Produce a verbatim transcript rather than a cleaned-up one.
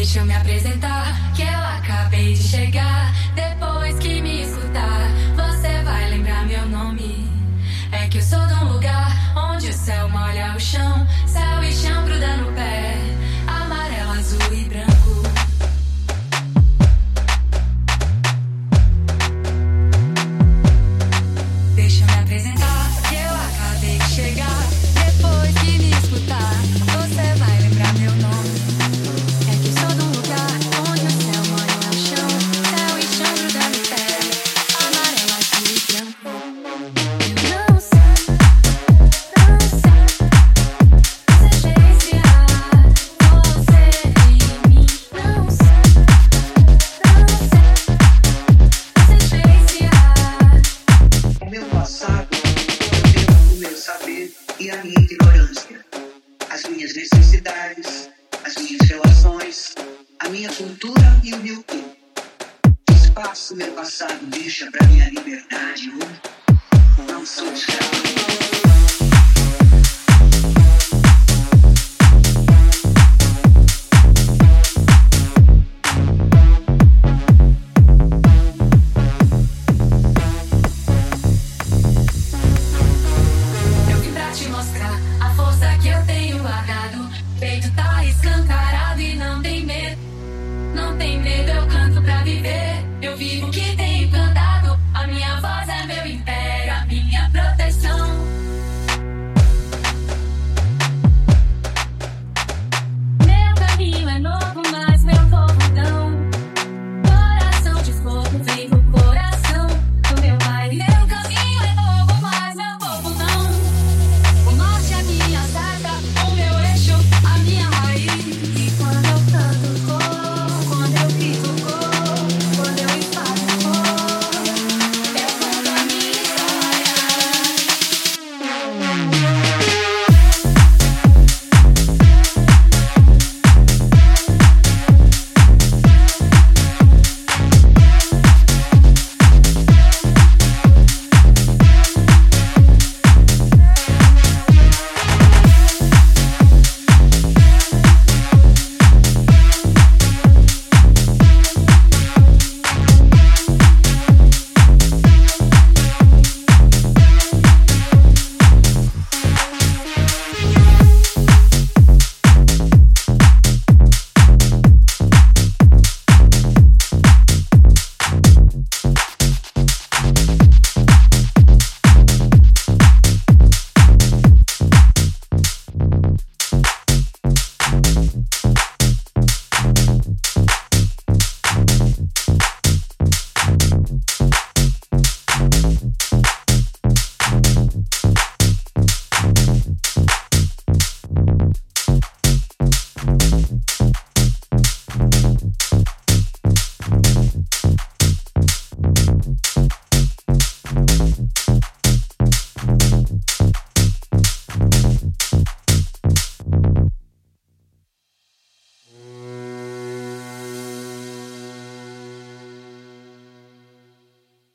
Deixa eu me apresentar, que eu acabei de chegar. Depois que me escutar, você vai lembrar meu nome. É que eu sou de um lugar onde o céu molha o chão, céu e chão grudando no pé, amarelo, azul e branco. Deixa eu me apresentar, que eu acabei de chegar. Depois que me escutar, você vai lembrar meu nome. É que eu sou de um lugar onde o céu molha o chão, céu e chão grudando no pé, amarelo, azul e branco. Eu não sei, não sei se desviar você de mim. Não sei, não sei se desviar. O meu passado, o tempo do meu saber e a minha ignorância, as minhas necessidades, as minhas relações, a minha cultura e o meu tempo. Espaço meu passado deixa pra minha liberdade. Eu não sou escravo. Eu vim pra te mostrar a força que eu tenho guardado. Peito tá escancarado e não tem medo. Não tem medo, eu canto pra viver. Eu vivo o que tem